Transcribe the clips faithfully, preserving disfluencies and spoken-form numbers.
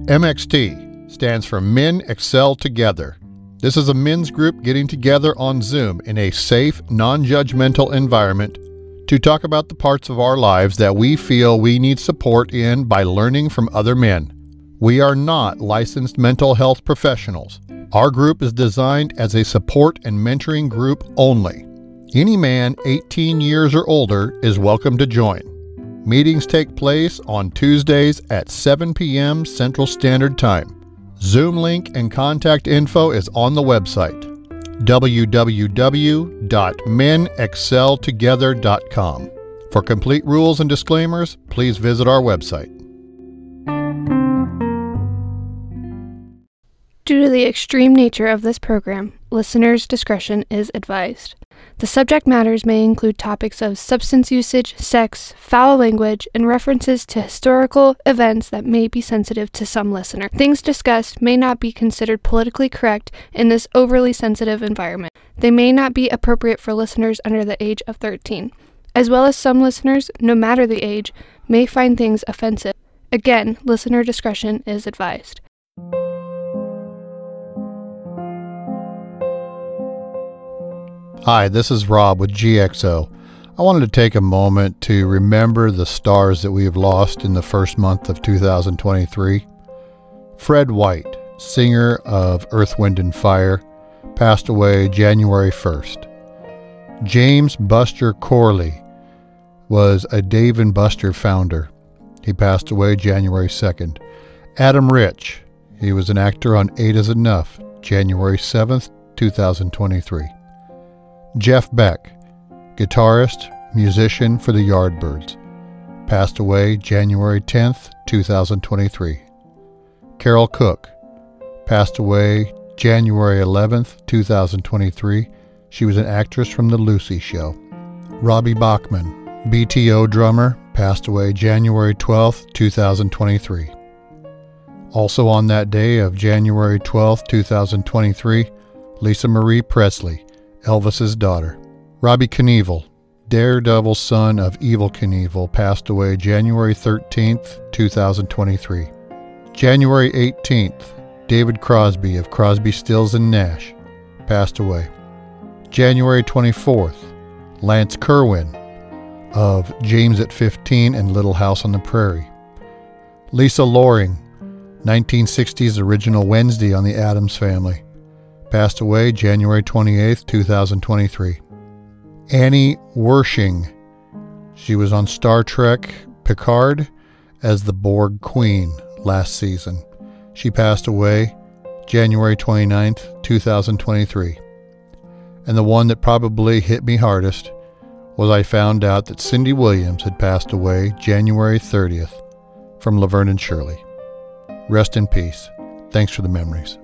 M X T stands for Men Excel Together. This is a men's group getting together on Zoom in a safe, non-judgmental environment to talk about the parts of our lives that we feel we need support in by learning from other men. We are not licensed mental health professionals. Our group is designed as a support and mentoring group only. Any man eighteen years or older is welcome to join. Meetings take place on Tuesdays at seven p.m. Central Standard Time. Zoom link and contact info is on the website, w w w dot men excel together dot com. For complete rules and disclaimers, please visit our website. Due to the extreme nature of this program, listeners' discretion is advised. The subject matters may include topics of substance usage, sex, foul language, and references to historical events that may be sensitive to some listener. Things discussed may not be considered politically correct in this overly sensitive environment. They may not be appropriate for listeners under the age of thirteen, as well as some listeners, no matter the age, may find things offensive. Again, listener discretion is advised. Hi, this is Rob with G X O. I wanted to take a moment to remember the stars that we have lost in the first month of two thousand twenty-three. Fred White, singer of Earth, Wind and Fire, passed away January first. James Buster Corley was a Dave and Buster founder. He passed away January second. Adam Rich, he was an actor on Eight Is Enough, January seventh, two thousand twenty-three. Jeff Beck, guitarist, musician for the Yardbirds, passed away January tenth, two thousand twenty-three. Carol Cook, passed away January eleventh, two thousand twenty-three. She was an actress from The Lucy Show. Robbie Bachman, B T O drummer, passed away January twelfth, two thousand twenty-three. Also on that day of January twelfth, two thousand twenty-three, Lisa Marie Presley, Elvis's daughter. Robbie Knievel, daredevil son of Evel Knievel, passed away January thirteenth, two thousand twenty-three. January eighteenth, David Crosby of Crosby, Stills and Nash, passed away. January twenty-fourth, Lance Kerwin of James at fifteen and Little House on the Prairie. Lisa Loring, nineteen sixties original Wednesday on the Addams Family, passed away January twenty-eighth, two thousand twenty-three. Annie Wershing, she was on Star Trek Picard as the Borg Queen last season. She passed away January twenty-ninth, two thousand twenty-three. And the one that probably hit me hardest was I found out that Cindy Williams had passed away January thirtieth from Laverne and Shirley. Rest in peace. Thanks for the memories.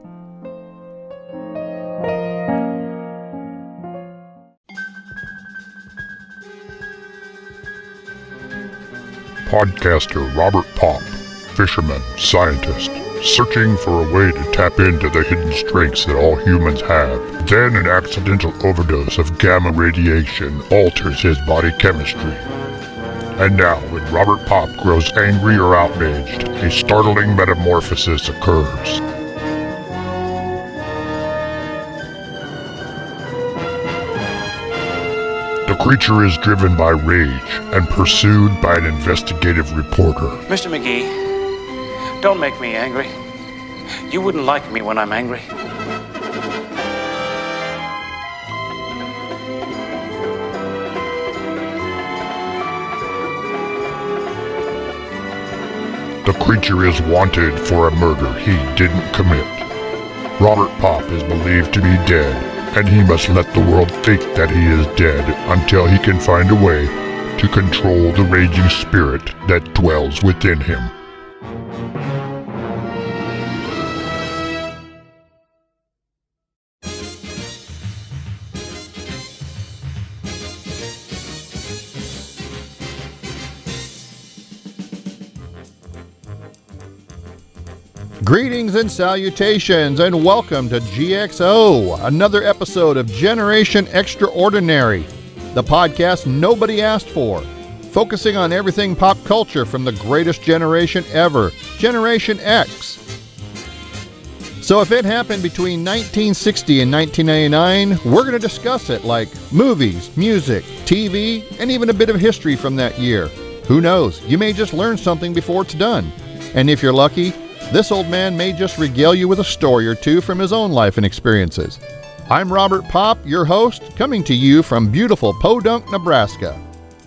Podcaster Robert Popp, fisherman, scientist, searching for a way to tap into the hidden strengths that all humans have. Then an accidental overdose of gamma radiation alters his body chemistry. And now, when Robert Popp grows angry or outraged, a startling metamorphosis occurs. The creature is driven by rage and pursued by an investigative reporter. Mister McGee, don't make me angry. You wouldn't like me when I'm angry. The creature is wanted for a murder he didn't commit. Robert Popp is believed to be dead, and he must let the world think that he is dead until he can find a way to control the raging spirit that dwells within him. Greetings and salutations, and welcome to G X O, another episode of Generation Extraordinary, the podcast nobody asked for, focusing on everything pop culture from the greatest generation ever, Generation X. So if it happened between nineteen sixty and nineteen ninety-nine, we're going to discuss it, like movies, music, T V, and even a bit of history from that year. Who knows? You may just learn something before it's done. And if you're lucky, this old man may just regale you with a story or two from his own life and experiences. I'm Robert Popp, your host, coming to you from beautiful Podunk, Nebraska.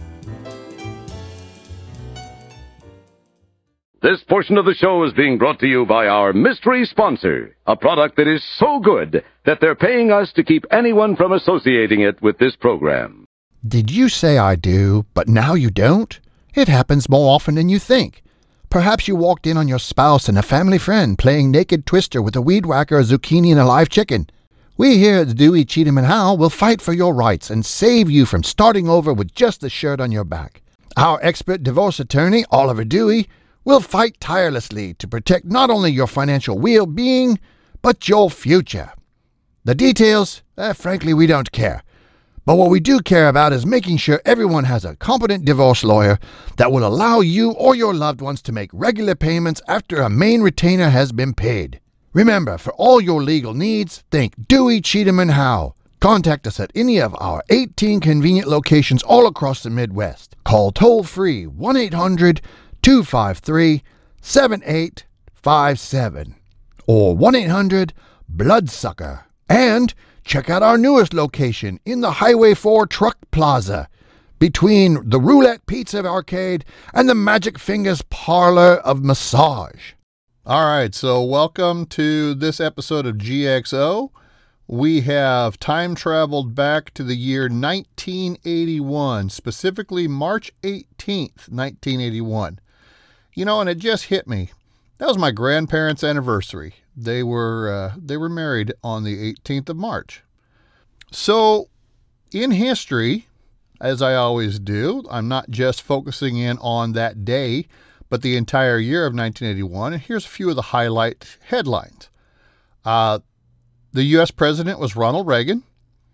This portion of the show is being brought to you by our mystery sponsor, a product that is so good that they're paying us to keep anyone from associating it with this program. Did you say I do, but now you don't? It happens more often than you think. Perhaps you walked in on your spouse and a family friend playing naked twister with a weed whacker, a zucchini, and a live chicken. We here at Dewey, Cheatham and Howe will fight for your rights and save you from starting over with just the shirt on your back. Our expert divorce attorney, Oliver Dewey, will fight tirelessly to protect not only your financial well-being, but your future. The details, eh, frankly, we don't care. But what we do care about is making sure everyone has a competent divorce lawyer that will allow you or your loved ones to make regular payments after a main retainer has been paid. Remember, for all your legal needs, think Dewey, Cheatham and Howe. Contact us at any of our eighteen convenient locations all across the Midwest. Call toll-free one eight hundred two five three seven eight five seven or one eight hundred bloodsucker. And check out our newest location in the Highway four Truck Plaza between the Roulette Pizza Arcade and the Magic Fingers Parlor of Massage. All right, so welcome to this episode of G X O. We have time traveled back to the year nineteen eighty-one, specifically March eighteenth, nineteen eighty-one. You know, and it just hit me. That was my grandparents' anniversary. They were uh, they were married on the eighteenth of March. So, in history, as I always do, I'm not just focusing in on that day, but the entire year of nineteen eighty-one. And here's a few of the highlight headlines. Uh, the U S president was Ronald Reagan.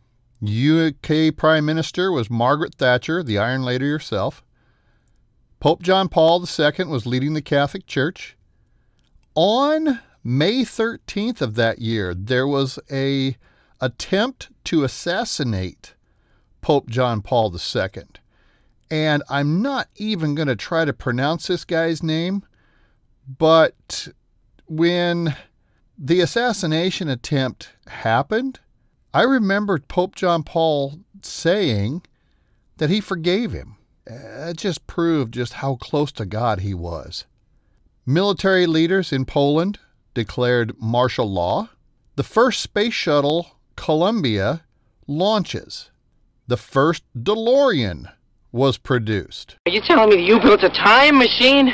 U K Prime Minister was Margaret Thatcher, the Iron Lady herself. Pope John Paul the Second was leading the Catholic Church. On May thirteenth of that year, there was a attempt to assassinate Pope John Paul the Second. And I'm not even going to try to pronounce this guy's name, but when the assassination attempt happened, I remember Pope John Paul saying that he forgave him. It just proved just how close to God he was. Military leaders in Poland declared martial law. The first space shuttle, Columbia, launches. The first DeLorean was produced. Are you telling me that you built a time machine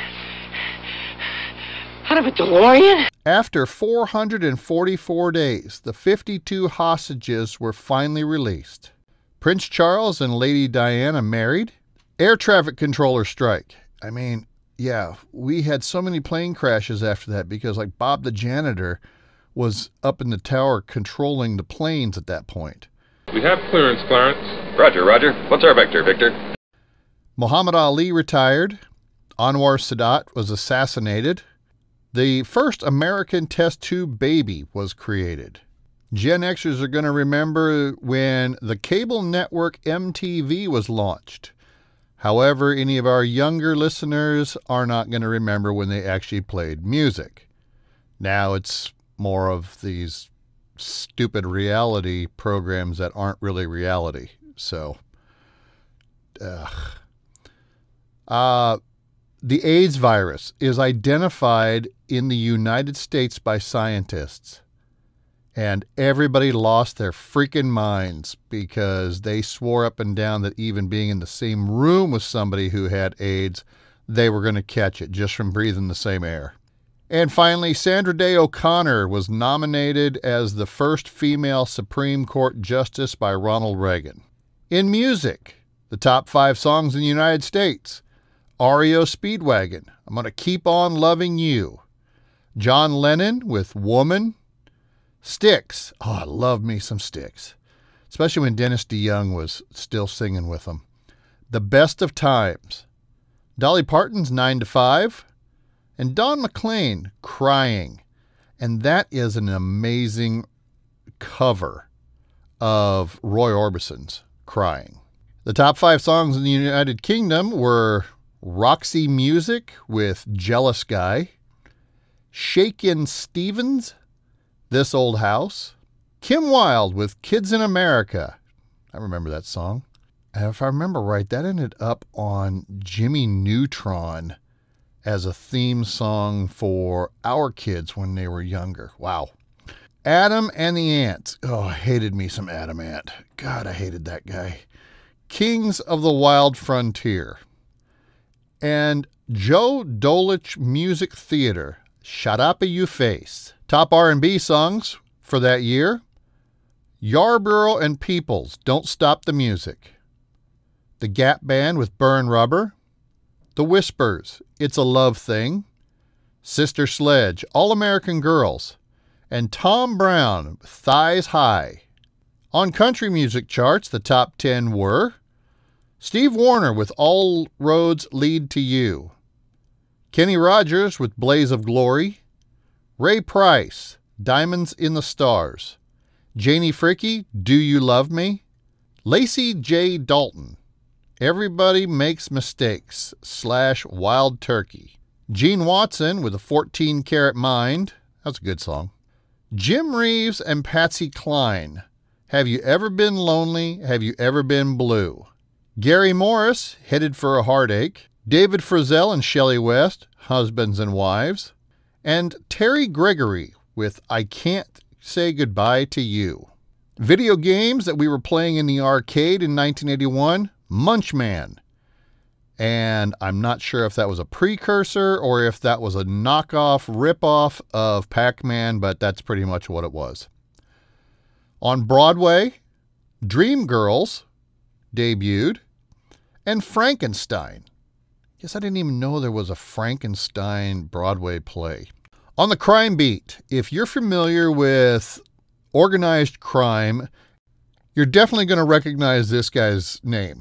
out of a DeLorean? After four hundred forty-four days, the fifty-two hostages were finally released. Prince Charles and Lady Diana married. Air traffic controller strike. I mean, yeah, we had so many plane crashes after that because, like, Bob the janitor was up in the tower controlling the planes at that point. We have clearance, Clarence. Roger, Roger. What's our vector, Victor? Muhammad Ali retired. Anwar Sadat was assassinated. The first American test tube baby was created. Gen Xers are going to remember when the cable network M T V was launched. However, any of our younger listeners are not going to remember when they actually played music. Now it's more of these stupid reality programs that aren't really reality. So, ugh. Uh, the AIDS virus is identified in the United States by scientists. And everybody lost their freaking minds because they swore up and down that even being in the same room with somebody who had AIDS, they were going to catch it just from breathing the same air. And finally, Sandra Day O'Connor was nominated as the first female Supreme Court Justice by Ronald Reagan. In music, the top five songs in the United States. R E O Speedwagon, I'm Gonna Keep On Loving You. John Lennon with Woman. Styx. Oh, I love me some Styx. Especially when Dennis DeYoung was still singing with them. The Best of Times. Dolly Parton's nine to five. And Don McLean, Crying. And that is an amazing cover of Roy Orbison's Crying. The top five songs in the United Kingdom were Roxy Music with Jealous Guy, Shakin' Stevens, This Old House, Kim Wilde with Kids in America. I remember that song. And if I remember right, that ended up on Jimmy Neutron as a theme song for our kids when they were younger. Wow. Adam and the Ants. Oh, I hated me some Adam Ant. God, I hated that guy. Kings of the Wild Frontier. And Joe Dolich Music Theater. Shut Up You Face. Top R and B songs for that year. Yarborough and Peoples, Don't Stop the Music. The Gap Band with Burn Rubber. The Whispers, It's a Love Thing. Sister Sledge, All American Girls. And Tom Brown, Thighs High. On country music charts, the top ten were Steve Wariner with All Roads Lead to You. Kenny Rogers with Blaze of Glory. Ray Price, Diamonds in the Stars. Janie Fricke, Do You Love Me? Lacey J. Dalton, Everybody Makes Mistakes slash Wild Turkey. Gene Watson with a fourteen karat Mind. That's a good song. Jim Reeves and Patsy Cline, Have You Ever Been Lonely? Have You Ever Been Blue? Gary Morris, Headed for a Heartache. David Frizzell and Shelley West, Husbands and Wives. And Terry Gregory with I Can't Say Goodbye to You. Video games that we were playing in the arcade in nineteen eighty-one, Munchman. And I'm not sure if that was a precursor or if that was a knockoff, ripoff of Pac-Man, but that's pretty much what it was. On Broadway, Dreamgirls debuted, and Frankenstein. Guess I didn't even know there was a Frankenstein Broadway play. On the crime beat, if you're familiar with organized crime, you're definitely going to recognize this guy's name.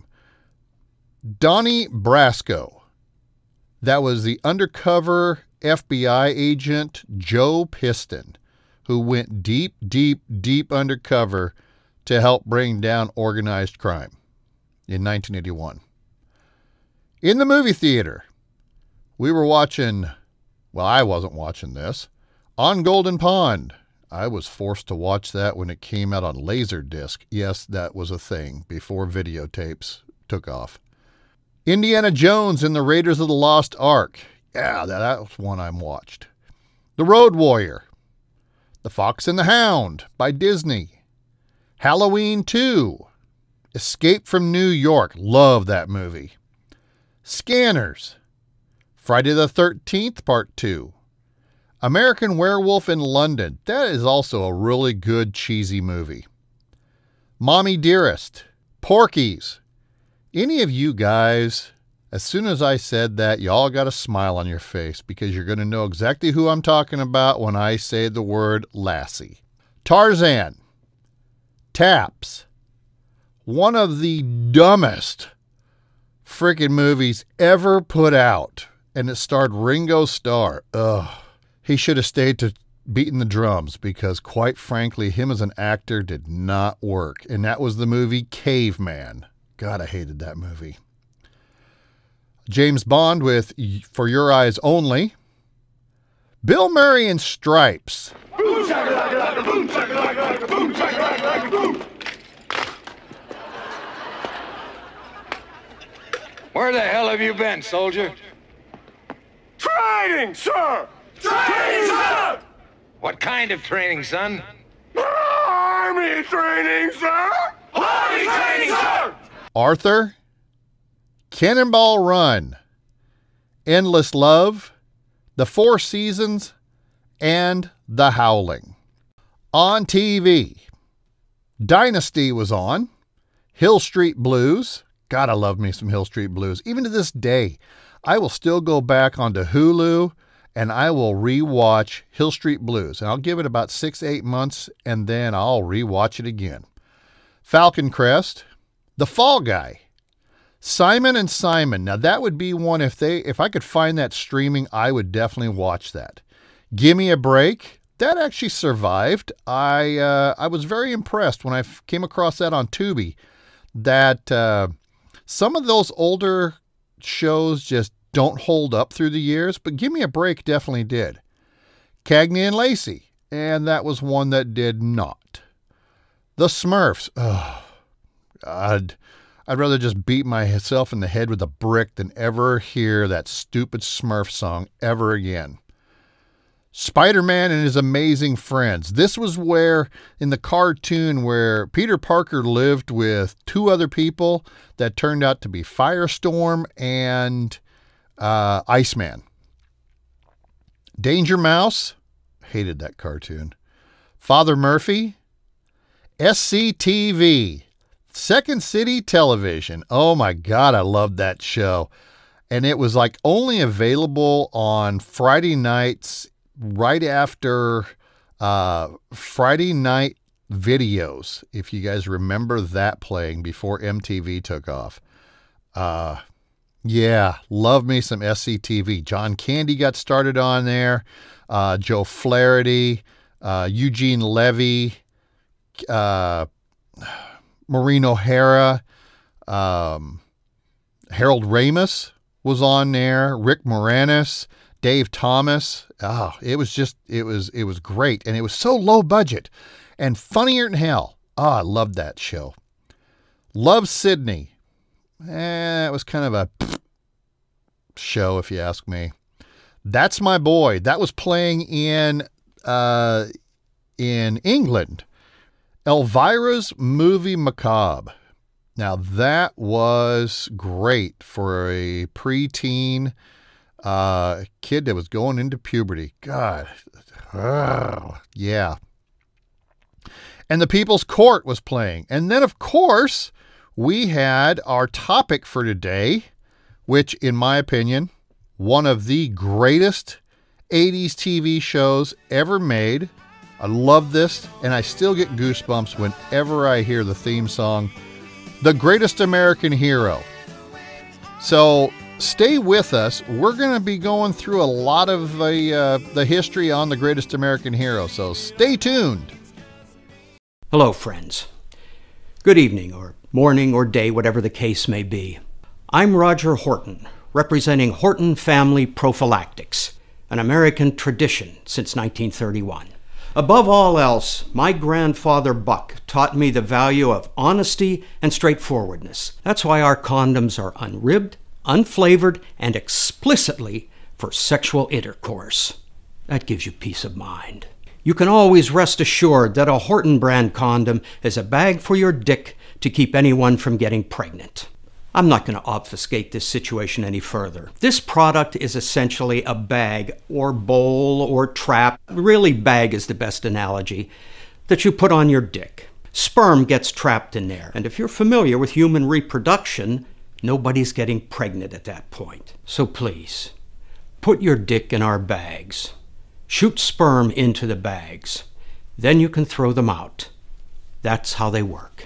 Donnie Brasco. That was the undercover F B I agent Joe Piston, who went deep, deep, deep undercover to help bring down organized crime in nineteen eighty-one. In the movie theater, we were watching, well, I wasn't watching this, On Golden Pond. I was forced to watch that when it came out on Laserdisc. Yes, that was a thing before videotapes took off. Indiana Jones and the Raiders of the Lost Ark. Yeah, that, that was one I watched. The Road Warrior. The Fox and the Hound by Disney. Halloween two. Escape from New York. Love that movie. Scanners. Friday the thirteenth, Part two. American Werewolf in London. That is also a really good cheesy movie. Mommy Dearest. Porky's. Any of you guys, as soon as I said that, y'all got a smile on your face because you're going to know exactly who I'm talking about when I say the word Lassie. Tarzan. Taps. One of the dumbest freaking movies ever put out. And it starred Ringo Starr. Ugh. He should have stayed to beating the drums because, quite frankly, him as an actor did not work. And that was the movie Caveman. God, I hated that movie. James Bond with For Your Eyes Only. Bill Murray in Stripes. Boom, shakalaka, boom, shakalaka, boom, shakalaka, boom. Where the hell have you been, soldier? Training, sir! Training, sir! What kind of training, son? Army training, sir! Army training, sir! Arthur. Cannonball Run. Endless Love. The Four Seasons. And The Howling. On T V. Dynasty was on. Hill Street Blues. God, I love me some Hill Street Blues. Even to this day, I will still go back onto Hulu and I will rewatch Hill Street Blues. And I'll give it about six, eight months, and then I'll rewatch it again. Falcon Crest. The Fall Guy. Simon and Simon. Now that would be one, if they if I could find that streaming, I would definitely watch that. Gimme a Break. that actually survived. I uh, I was very impressed when I f- came across that on Tubi, that uh, some of those older shows just don't hold up through the years, but Give Me a Break definitely did. Cagney and Lacey, and that was one that did not. The Smurfs, oh, I'd, I'd rather just beat myself in the head with a brick than ever hear that stupid Smurf song ever again. Spider-Man and His Amazing Friends. This was where, in the cartoon, where Peter Parker lived with two other people that turned out to be Firestorm and uh, Iceman. Danger Mouse. Hated that cartoon. Father Murphy. S C T V. Second City Television. Oh my God, I loved that show. And it was like only available on Friday nights right after uh, Friday night videos, if you guys remember that playing before M T V took off. Uh, yeah, love me some S C T V. John Candy got started on there. Uh, Joe Flaherty, uh, Eugene Levy, uh, Maureen O'Hara, um, Harold Ramis was on there. Rick Moranis, Dave Thomas. Oh, it was just, it was, it was great. And it was so low budget and funnier than hell. Oh, I loved that show. Love Sydney. Eh, it was kind of a show, if you ask me. That's My Boy. That was playing in, uh, in England. Elvira's Movie Macabre. Now that was great for a preteen Uh, kid that was going into puberty. God. Oh, yeah. And The People's Court was playing. And then, of course, we had our topic for today, which, in my opinion, one of the greatest eighties T V shows ever made. I love this, and I still get goosebumps whenever I hear the theme song, The Greatest American Hero. So stay with us. We're going to be going through a lot of the, uh, the history on The Greatest American Hero, so stay tuned. Hello, friends. Good evening, or morning, or day, whatever the case may be. I'm Roger Horton, representing Horton Family Prophylactics, an American tradition since nineteen thirty-one. Above all else, my grandfather Buck taught me the value of honesty and straightforwardness. That's why our condoms are unribbed, unflavored, and explicitly for sexual intercourse. That gives you peace of mind. You can always rest assured that a Horton brand condom is a bag for your dick to keep anyone from getting pregnant. I'm not going to obfuscate this situation any further. This product is essentially a bag or bowl or trap, really bag is the best analogy, that you put on your dick. Sperm gets trapped in there, and if you're familiar with human reproduction, nobody's getting pregnant at that point. So please, put your dick in our bags. Shoot sperm into the bags. Then you can throw them out. That's how they work.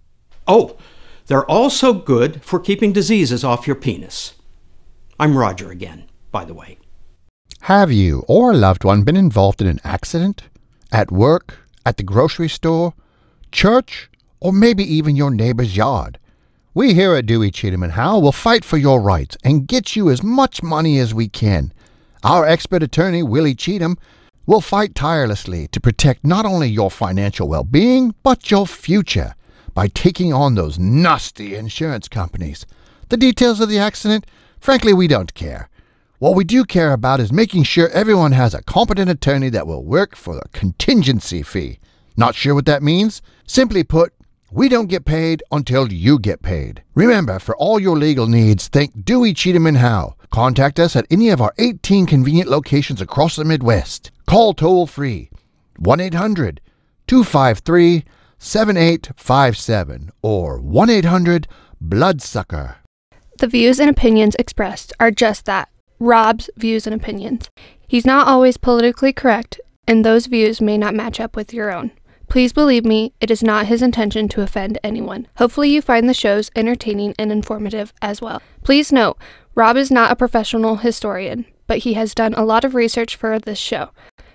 Oh, they're also good for keeping diseases off your penis. I'm Roger again, by the way. Have you or a loved one been involved in an accident? At work? At the grocery store? Church? Or maybe even your neighbor's yard? We here at Dewey, Cheatham and Howe will fight for your rights and get you as much money as we can. Our expert attorney, Willie Cheatham, will fight tirelessly to protect not only your financial well-being, but your future by taking on those nasty insurance companies. The details of the accident, frankly, we don't care. What we do care about is making sure everyone has a competent attorney that will work for a contingency fee. Not sure what that means? Simply put, we don't get paid until you get paid. Remember, for all your legal needs, think Dewey, Cheatham and Howe. Contact us at any of our eighteen convenient locations across the Midwest. Call toll-free one eight hundred two five three seven eight five seven or one eight hundred bloodsucker. The views and opinions expressed are just that, Rob's views and opinions. He's not always politically correct, and those views may not match up with your own. Please believe me, it is not his intention to offend anyone. Hopefully you find the shows entertaining and informative as well. Please note, Rob is not a professional historian, but he has done a lot of research for this show.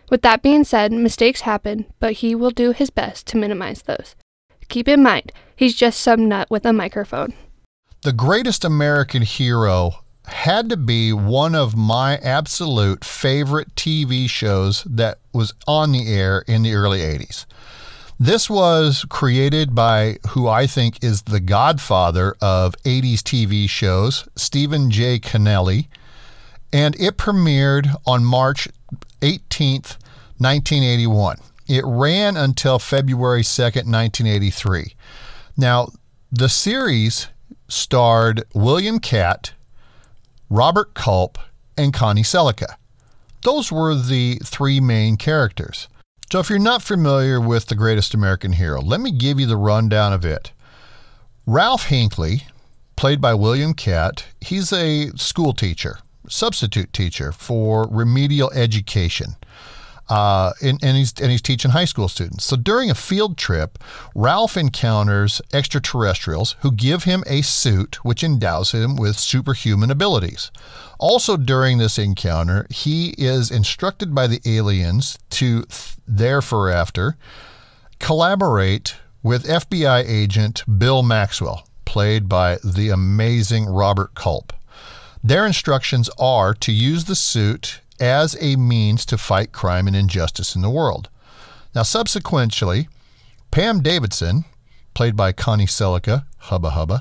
With that being said, mistakes happen, but he will do his best to minimize those. Keep in mind, he's just some nut with a microphone. The Greatest American Hero had to be one of my absolute favorite T V shows that was on the air in the early eighties. This was created by who I think is the godfather of eighties T V shows, Stephen J. Cannelli, and it premiered on March eighteenth, nineteen eighty-one. It ran until February second, nineteen eighty-three. Now, the series starred William Katt, Robert Culp, and Connie Sellecca. Those were the three main characters. So if you're not familiar with The Greatest American Hero, let me give you the rundown of it. Ralph Hinckley, played by William Katt, he's a school teacher, substitute teacher for remedial education. Uh, and, and, he's, and he's teaching high school students. So during a field trip, Ralph encounters extraterrestrials who give him a suit which endows him with superhuman abilities. Also during this encounter, he is instructed by the aliens to thereafter collaborate with F B I agent Bill Maxwell, played by the amazing Robert Culp. Their instructions are to use the suit as a means to fight crime and injustice in the world. Now, subsequently, Pam Davidson, played by Connie Sellecca, Hubba Hubba,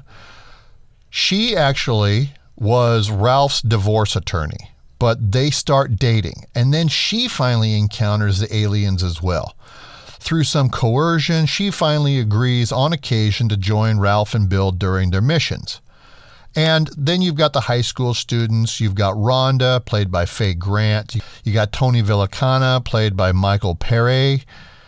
she actually was Ralph's divorce attorney, but they start dating, and then she finally encounters the aliens as well. Through some coercion, she finally agrees on occasion to join Ralph and Bill during their missions. And then you've got the high school students. You've got Rhonda, played by Faye Grant. You got Tony Villacana, played by Michael Pere.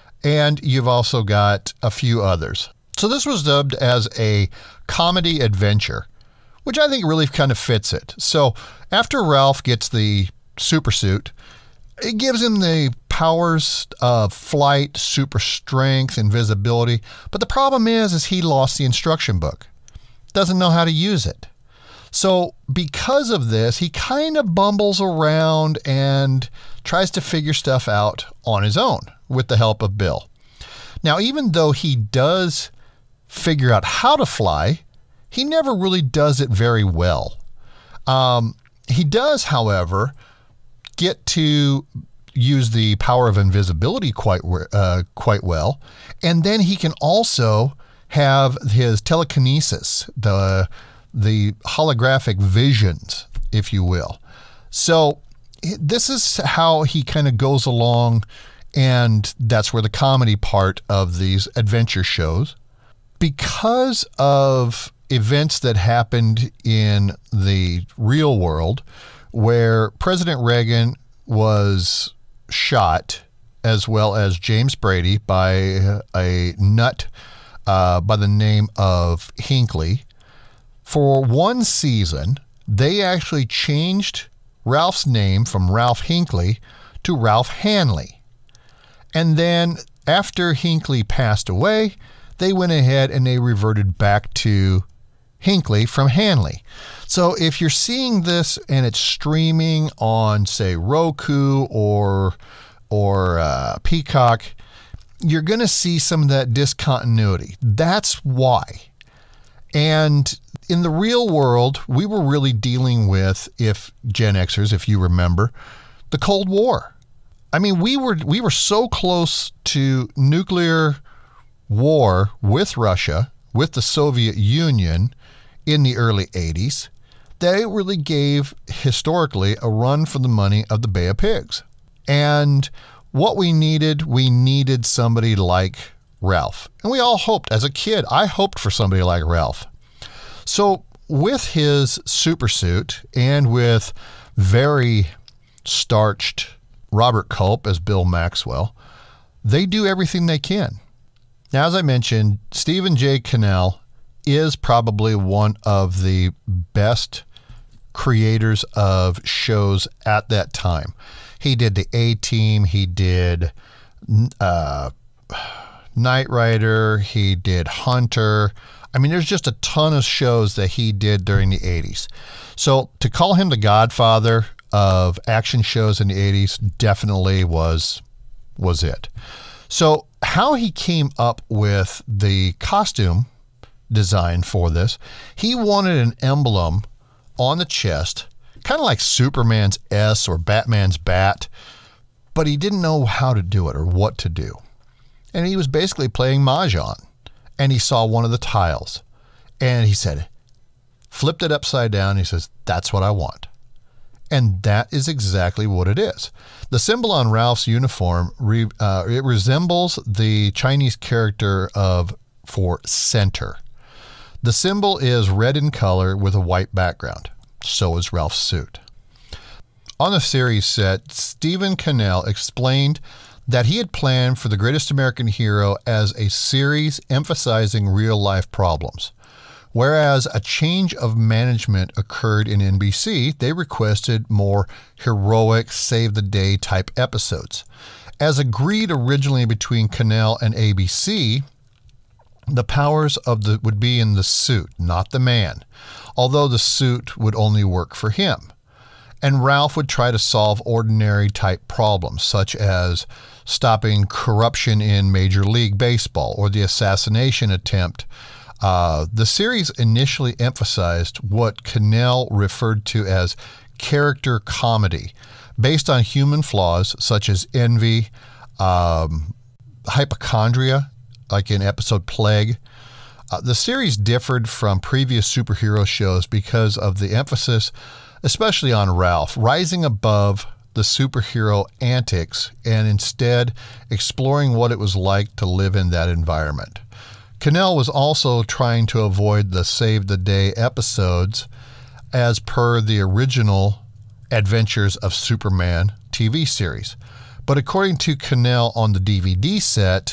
And you've also got a few others. So this was dubbed as a comedy adventure, which I think really kind of fits it. So after Ralph gets the super suit, it gives him the powers of flight, super strength, invisibility. But the problem is, is he lost the instruction book. Doesn't know how to use it. So because of this, he kind of bumbles around and tries to figure stuff out on his own with the help of Bill. Now, even though he does figure out how to fly, he never really does it very well. Um, he does, however, get to use the power of invisibility quite uh, quite well, and then he can also have his telekinesis, the the holographic visions, if you will. So this is how he kind of goes along, and that's where the comedy part of these adventure shows. Because of events that happened in the real world, where President Reagan was shot, as well as James Brady, by a nut uh, by the name of Hinckley. For one season, they actually changed Ralph's name from Ralph Hinckley to Ralph Hanley. And then after Hinckley passed away, they went ahead and they reverted back to Hinckley from Hanley. So if you're seeing this and it's streaming on, say, Roku or or uh, Peacock, you're going to see some of that discontinuity. That's why. And in the real world, we were really dealing with, if Gen Xers, if you remember, the Cold War. I mean, we were we were so close to nuclear war with Russia, with the Soviet Union in the early eighties, that it really gave, historically, a run for the money of the Bay of Pigs. And what we needed, we needed somebody like Ralph. And we all hoped, as a kid, I hoped for somebody like Ralph. So with his supersuit and with very starched Robert Culp as Bill Maxwell, they do everything they can. Now, as I mentioned, Stephen J. Cannell is probably one of the best creators of shows at that time. He did the A-Team, he did uh, Knight Rider, he did Hunter. I mean, there's just a ton of shows that he did during the eighties. So to call him the godfather of action shows in the eighties definitely was was it. So how he came up with the costume design for this, he wanted an emblem on the chest, kind of like Superman's S or Batman's bat, but he didn't know how to do it or what to do. And he was basically playing Mahjong, and he saw one of the tiles, and he said, flipped it upside down, and he says, that's what I want. And that is exactly what it is. The symbol on Ralph's uniform, re, uh, it resembles the Chinese character of for center. The symbol is red in color with a white background. So is Ralph's suit. On the series set, Stephen Cannell explained that he had planned for The Greatest American Hero as a series emphasizing real-life problems. Whereas a change of management occurred in N B C, they requested more heroic, save-the-day type episodes. As agreed originally between Cannell and A B C, the powers of the would be in the suit, not the man, although the suit would only work for him. And Ralph would try to solve ordinary type problems, such as stopping corruption in Major League Baseball or the assassination attempt. Uh, the series initially emphasized what Cannell referred to as character comedy, based on human flaws such as envy, um, hypochondria, like in episode Plague. Uh, the series differed from previous superhero shows because of the emphasis, especially on Ralph, rising above the superhero antics and instead exploring what it was like to live in that environment. Cannell was also trying to avoid the Save the Day episodes as per the original Adventures of Superman T V series. But according to Cannell on the D V D set,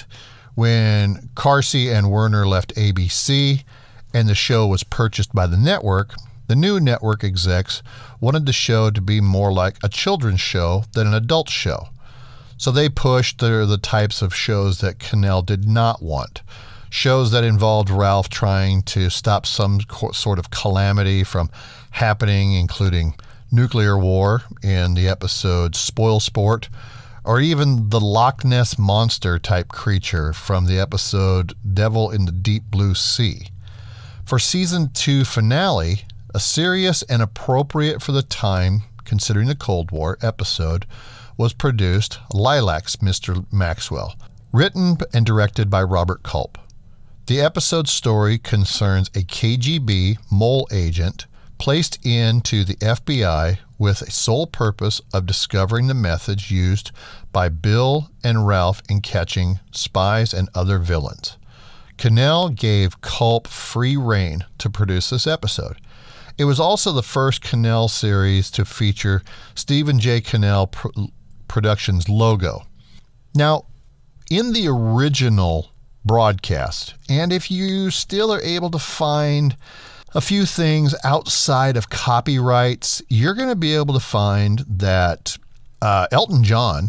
when Carsey and Werner left A B C and the show was purchased by the network, the new network execs wanted the show to be more like a children's show than an adult show. So they pushed the, the types of shows that Cannell did not want. Shows that involved Ralph trying to stop some sort of calamity from happening, including nuclear war in the episode Spoil Sport, or even the Loch Ness Monster type creature from the episode Devil in the Deep Blue Sea. For season two finale, a serious and appropriate for the time, considering the Cold War, episode was produced, Lilacs, Mister Maxwell, written and directed by Robert Culp. The episode's story concerns a K G B mole agent placed into the F B I with a sole purpose of discovering the methods used by Bill and Ralph in catching spies and other villains. Cannell gave Culp free rein to produce this episode. It was also the first Cannell series to feature Stephen J. Cannell Pro- Productions logo. Now, in the original broadcast, and if you still are able to find a few things outside of copyrights, you're going to be able to find that uh, Elton John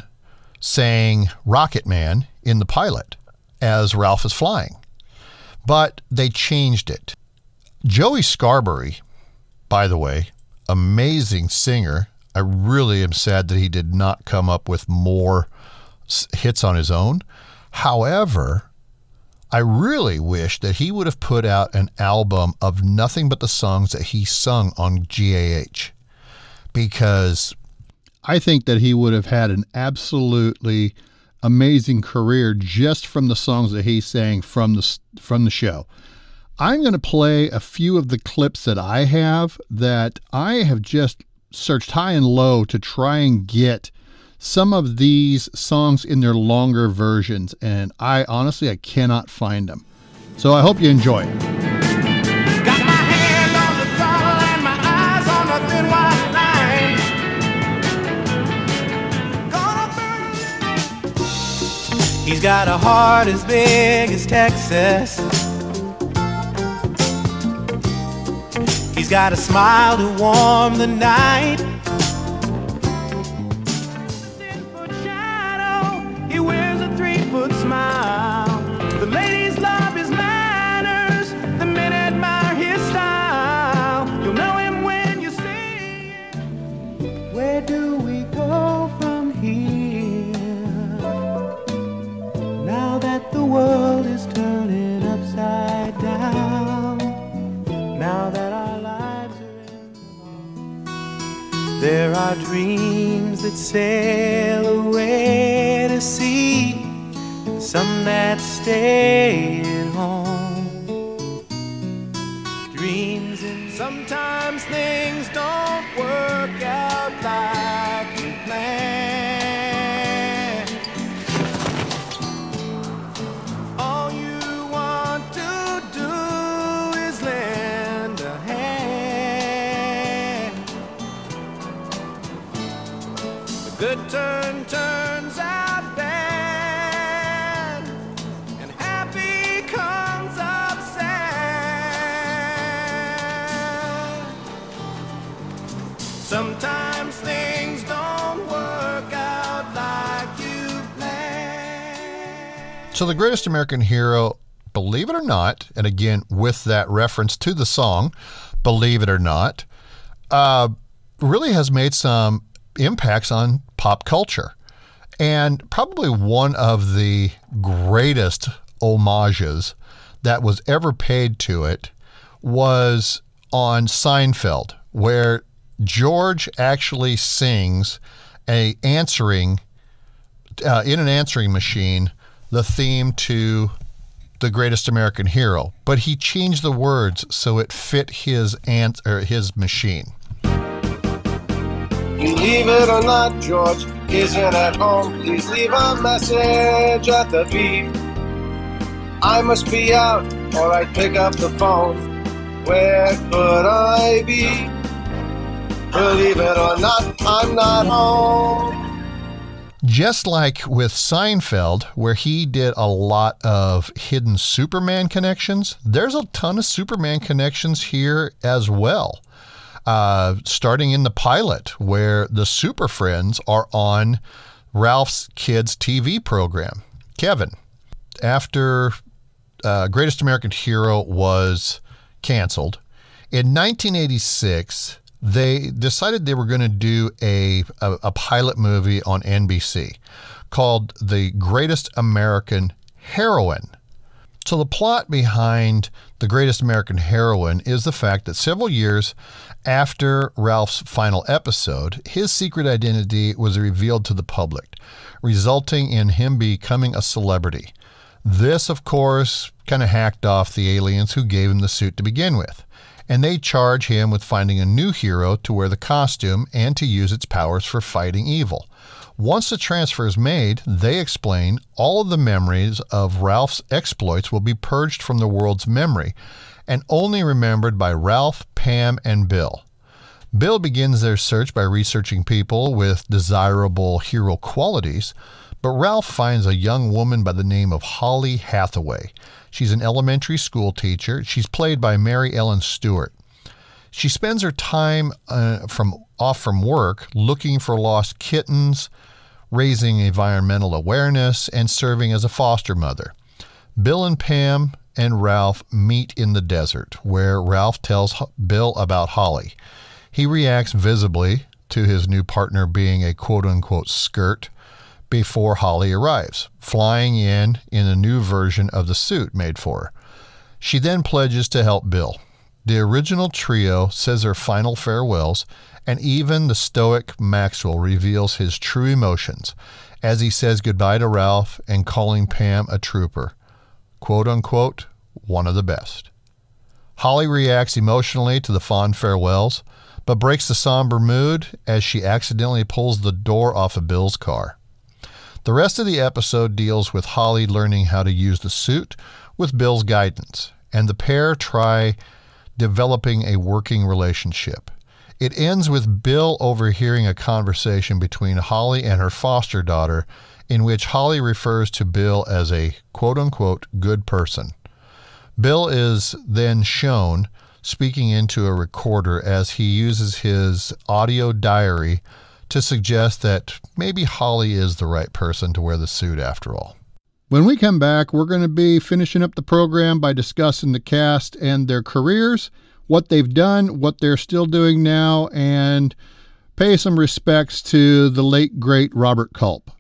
sang Rocket Man in the pilot as Ralph is flying. But they changed it. Joey Scarberry, by the way, amazing singer. I really am sad that he did not come up with more hits on his own. However, I really wish that he would have put out an album of nothing but the songs that he sung on G A H, because I think that he would have had an absolutely amazing career just from the songs that he sang from the from the show. I'm going to play a few of the clips that I have that I have just searched high and low to try and get some of these songs in their longer versions, and I honestly I cannot find them. So I hope you enjoy it. Got my hand on the throttle and my eyes on the thin white line. He's got a heart as big as Texas. He's got a smile to warm the night. Ten-foot shadow, he wears a three-foot smile. The ladies love his manners, the men admire his style. You'll know him when you see him. Where do we go from here? world is turning upside down. Now that our lives are in the law, there are dreams that sail away to sea, and some that stay at home. Dreams and sometimes things don't work out like you planned. All you want to do is lend a hand. The good turn turns out bad, and happy comes up sad. Sometimes things don't work out like you planned. So The Greatest American Hero, believe it or not, and again with that reference to the song, Believe It or Not, uh, really has made some impacts on pop culture. And probably one of the greatest homages that was ever paid to it was on Seinfeld, where George actually sings a answering uh, in an answering machine the theme to The Greatest American Hero, but he changed the words so it fit his ant or his machine. Believe it or not, George isn't at home. Please leave a message at the beep. I must be out or I'd pick up the phone. Where could I be? Believe it or not, I'm not home. Just like with Seinfeld, where he did a lot of hidden Superman connections, there's a ton of Superman connections here as well. Uh, starting in the pilot, where the Super Friends are on Ralph's kids' T V program. Kevin, after uh, Greatest American Hero was canceled, in nineteen eighty-six, they decided they were going to do a, a, a pilot movie on N B C called The Greatest American Heroine. So the plot behind The Greatest American Heroine is the fact that several years after Ralph's final episode, his secret identity was revealed to the public, resulting in him becoming a celebrity. This, of course, kind of hacked off the aliens who gave him the suit to begin with, and they charge him with finding a new hero to wear the costume and to use its powers for fighting evil. Once the transfer is made, they explain all of the memories of Ralph's exploits will be purged from the world's memory and only remembered by Ralph, Pam, and Bill. Bill begins their search by researching people with desirable hero qualities, but Ralph finds a young woman by the name of Holly Hathaway. She's an elementary school teacher. She's played by Mary Ellen Stewart. She spends her time uh, from off from work looking for lost kittens, raising environmental awareness, and serving as a foster mother. Bill and Pam and Ralph meet in the desert, where Ralph tells Bill about Holly. He reacts visibly to his new partner being a quote-unquote skirt before Holly arrives, flying in in a new version of the suit made for her. She then pledges to help Bill. The original trio says their final farewells, and even the stoic Maxwell reveals his true emotions as he says goodbye to Ralph and calling Pam a trooper. Quote unquote, one of the best. Holly reacts emotionally to the fond farewells, but breaks the somber mood as she accidentally pulls the door off of Bill's car. The rest of the episode deals with Holly learning how to use the suit with Bill's guidance, and the pair try developing a working relationship. It ends with Bill overhearing a conversation between Holly and her foster daughter, in which Holly refers to Bill as a quote-unquote good person. Bill is then shown speaking into a recorder as he uses his audio diary to suggest that maybe Holly is the right person to wear the suit after all. When we come back, we're going to be finishing up the program by discussing the cast and their careers, what they've done, what they're still doing now, and pay some respects to the late, great Robert Culp.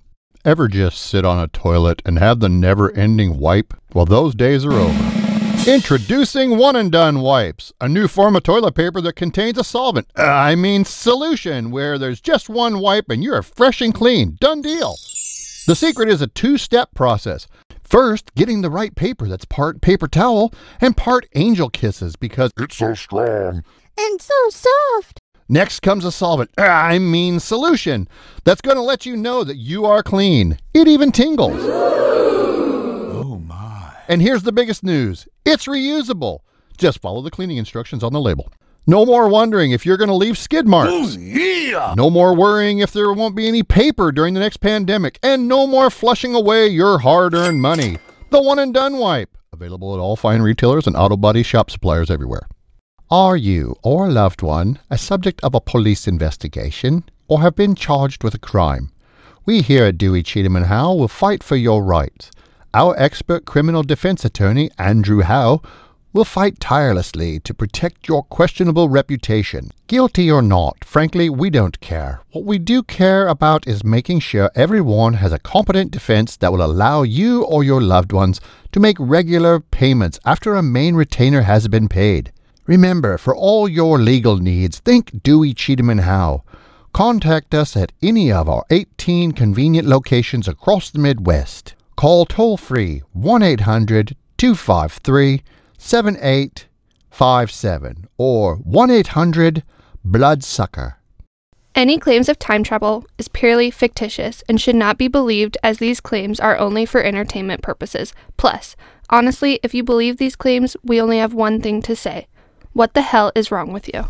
Ever just sit on a toilet and have the never-ending wipe? Well, those days are over. Introducing One and Done Wipes, a new form of toilet paper that contains a solvent, uh, I mean solution, where there's just one wipe and you're fresh and clean. Done deal. The secret is a two-step process. First, getting the right paper that's part paper towel and part Angel Kisses because it's so strong and so soft. Next comes a solvent, uh, I mean solution, that's going to let you know that you are clean. It even tingles. Oh my. And here's the biggest news. It's reusable. Just follow the cleaning instructions on the label. No more wondering if you're going to leave skid marks. Oh, yeah. No more worrying if there won't be any paper during the next pandemic. And no more flushing away your hard-earned money. The One and Done Wipe. Available at all fine retailers and auto body shop suppliers everywhere. Are you or a loved one a subject of a police investigation or have been charged with a crime? We here at Dewey, Cheatham and Howe will fight for your rights. Our expert criminal defense attorney, Andrew Howe, will fight tirelessly to protect your questionable reputation. Guilty or not, frankly, we don't care. What we do care about is making sure everyone has a competent defense that will allow you or your loved ones to make regular payments after a main retainer has been paid. Remember, for all your legal needs, think Dewey, Cheatham and Howe. Contact us at any of our eighteen convenient locations across the Midwest. Call toll-free one eight hundred two five three seven eight five seven or one eight hundred bloodsucker. Any claims of time travel is purely fictitious and should not be believed, as these claims are only for entertainment purposes. Plus, honestly, if you believe these claims, we only have one thing to say. What the hell is wrong with you?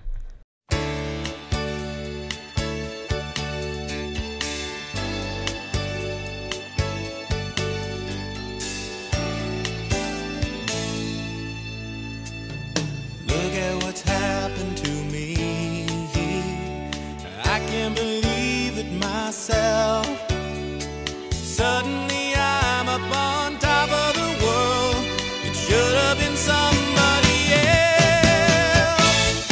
Look at what's happened to me. I can't believe it myself. Suddenly I'm up on top of the world. It should have been somebody else.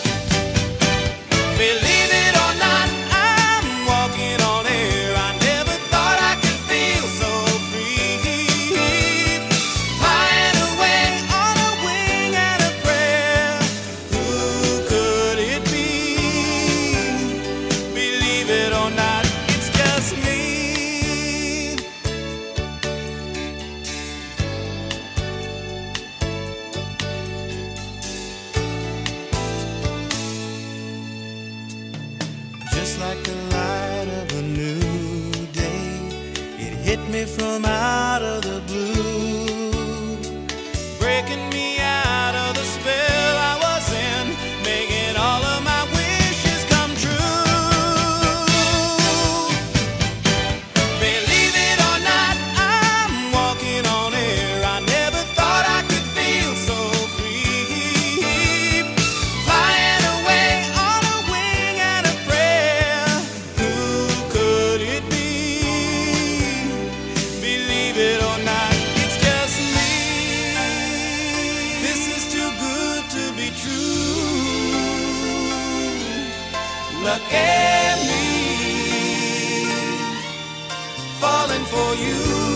Believe it or not, I'm walking on air. I never thought I could feel so free. Flying away on a wing and a prayer. Who could it be? Believe it or not, it's just me. Just like the light of a new day, it hit me from out of the blue, breaking me out of the spell I was in, making all of my wishes come true. Believe it or not, I'm walking on air. I never thought I could feel so free. Flying away on a wing and a prayer. Who could it be? Believe it or not, it's just me. This is too good to be true. Look at me, falling for you.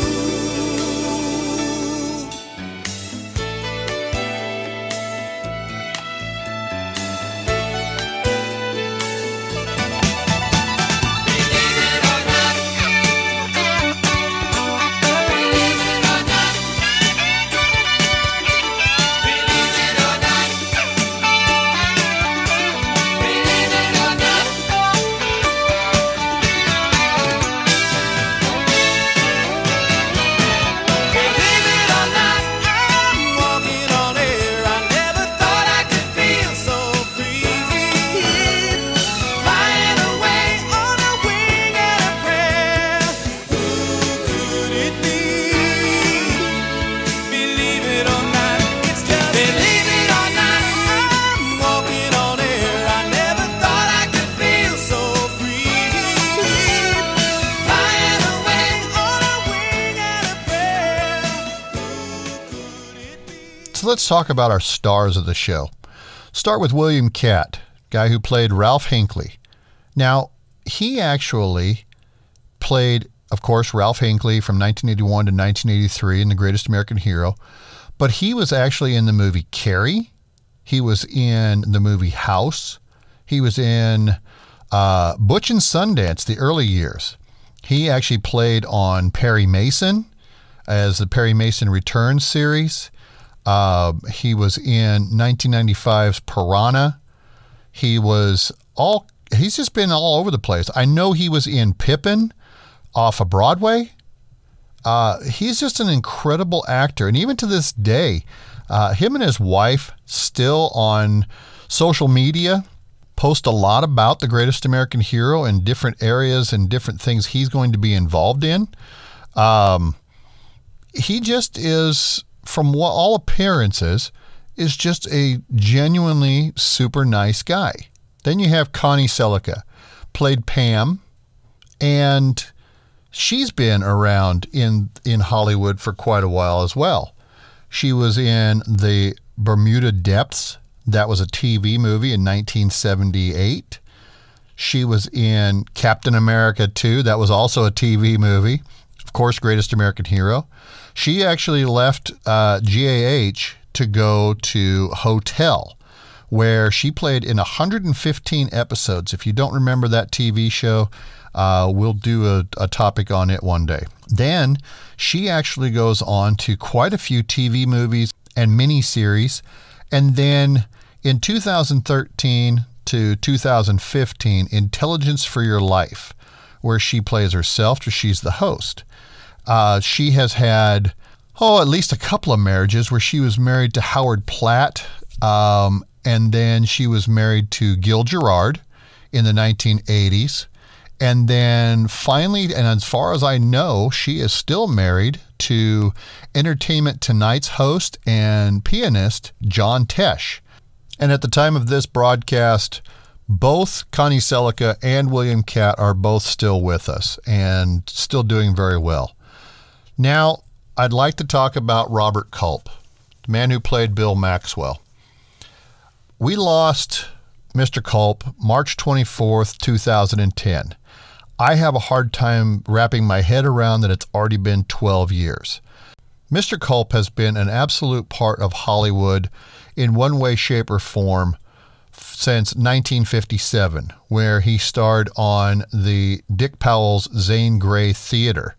Believe it or not, I'm walking on air. I never thought I could feel so free. Flying away on a wing and a prayer. Who could it be? Believe it or not, it's just believe it or not, I'm walking on air. I never thought I could feel so free. Flying away on a wing and a prayer. So let's talk about our stars of the show. Start with William Katt, guy who played Ralph Hinckley. Now, he actually played, of course, Ralph Hinckley from nineteen eighty-one to nineteen eighty-three in The Greatest American Hero. But he was actually in the movie Carrie. He was in the movie House. He was in uh, Butch and Sundance, the early years. He actually played on Perry Mason as the Perry Mason Returns series. Uh, he was in nineteen ninety-five's Piranha. He was all, he's just been all over the place. I know he was in Pippin off of Broadway. Uh, he's just an incredible actor. And even to this day, uh, him and his wife still on social media post a lot about The Greatest American Hero and different areas and different things he's going to be involved in. Um, he just is, from what all appearances, is just a genuinely super nice guy. Then you have Connie Sellecca, played Pam, and she's been around in, in Hollywood for quite a while as well. She was in the Bermuda Depths. That was a T V movie in nineteen seventy-eight. She was in Captain America two. That was also a T V movie. Of course, Greatest American Hero. She actually left uh, G A H to go to Hotel, where she played in one hundred fifteen episodes. If you don't remember that T V show, uh, we'll do a, a topic on it one day. Then she actually goes on to quite a few T V movies and miniseries. And then in two thousand thirteen to two thousand fifteen, Intelligence for Your Life, where she plays herself, she's the host. Uh, she has had, oh, at least a couple of marriages where she was married to Howard Platt, um, and then she was married to Gil Gerard in the nineteen eighties. And then finally, and as far as I know, she is still married to Entertainment Tonight's host and pianist John Tesh. And at the time of this broadcast, both Connie Sellecca and William Katt are both still with us and still doing very well. Now, I'd like to talk about Robert Culp, the man who played Bill Maxwell. We lost Mister Culp March twenty-fourth, two thousand ten. I have a hard time wrapping my head around that it's already been twelve years. Mister Culp has been an absolute part of Hollywood in one way, shape, or form since nineteen fifty-seven, where he starred on the Dick Powell's Zane Grey Theater.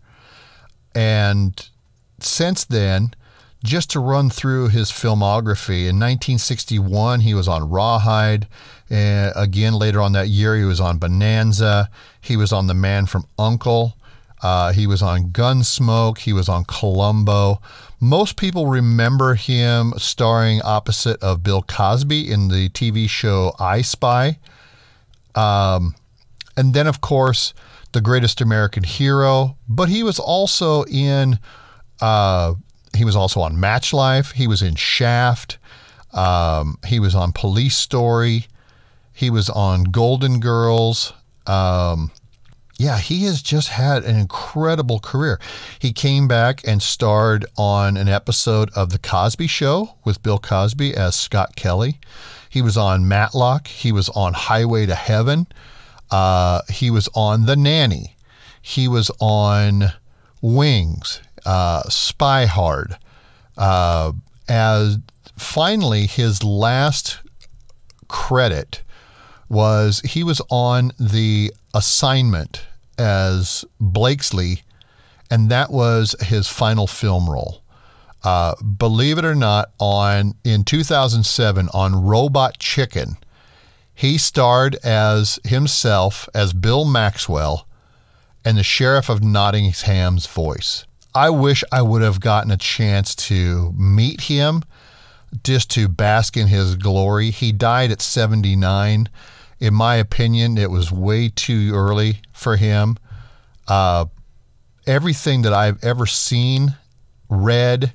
And since then, just to run through his filmography, in nineteen sixty-one, he was on Rawhide. Uh, again, later on that year, he was on Bonanza. He was on The Man from U N C L E. Uh, he was on Gunsmoke. He was on Columbo. Most people remember him starring opposite of Bill Cosby in the T V show I Spy. Um, and then, of course, The Greatest American Hero. But he was also in... Uh, He was also on Match Life. He was in Shaft. Um, he was on Police Story. He was on Golden Girls. Um, yeah, he has just had an incredible career. He came back and starred on an episode of The Cosby Show with Bill Cosby as Scott Kelly. He was on Matlock. He was on Highway to Heaven. Uh, he was on The Nanny. He was on Wings. Uh, Spy Hard. Uh, as finally, his last credit was he was on The Assignment as Blakesley, and that was his final film role. Uh, believe it or not, on in two thousand seven on Robot Chicken, he starred as himself as Bill Maxwell and the Sheriff of Nottingham's voice. I wish I would have gotten a chance to meet him just to bask in his glory. He died at seventy-nine. In my opinion, it was way too early for him. Uh, everything that I've ever seen, read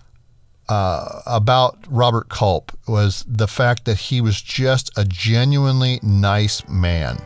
uh, about Robert Culp was the fact that he was just a genuinely nice man.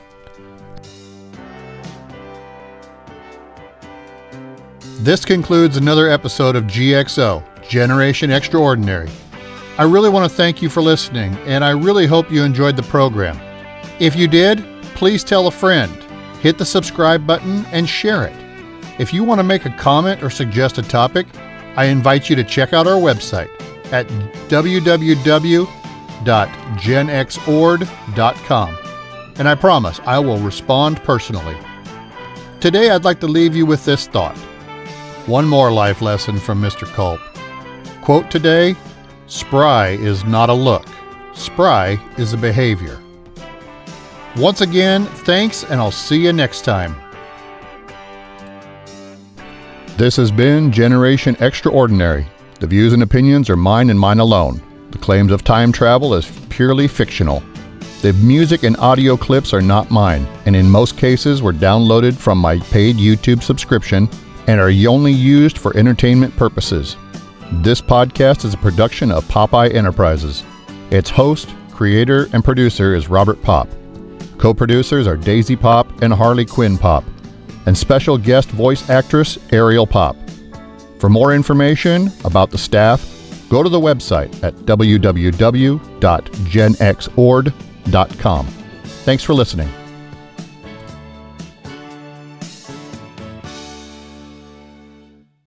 This concludes another episode of G X O, Generation Extraordinary. I really want to thank you for listening, and I really hope you enjoyed the program. If you did, please tell a friend. hit the subscribe button and share it. If you want to make a comment or suggest a topic, I invite you to check out our website at w w w dot gen x ord dot com, and I promise I will respond personally. Today I'd like to leave you with this thought. One more life lesson from Mister Culp. Quote today, "Spry is not a look. Spry is a behavior." Once again, thanks, and I'll see you next time. This has been Generation Extraordinary. The views and opinions are mine and mine alone. The claims of time travel is purely fictional. The music and audio clips are not mine, and in most cases were downloaded from my paid YouTube subscription and are only used for entertainment purposes. This podcast is a production of Popeye Enterprises. Its host, creator, and producer is Robert Pop. Co-producers are Daisy Pop and Harley Quinn Pop, and special guest voice actress Ariel Pop. For more information about the staff, go to the website at w w w dot gen x ord dot com. Thanks for listening.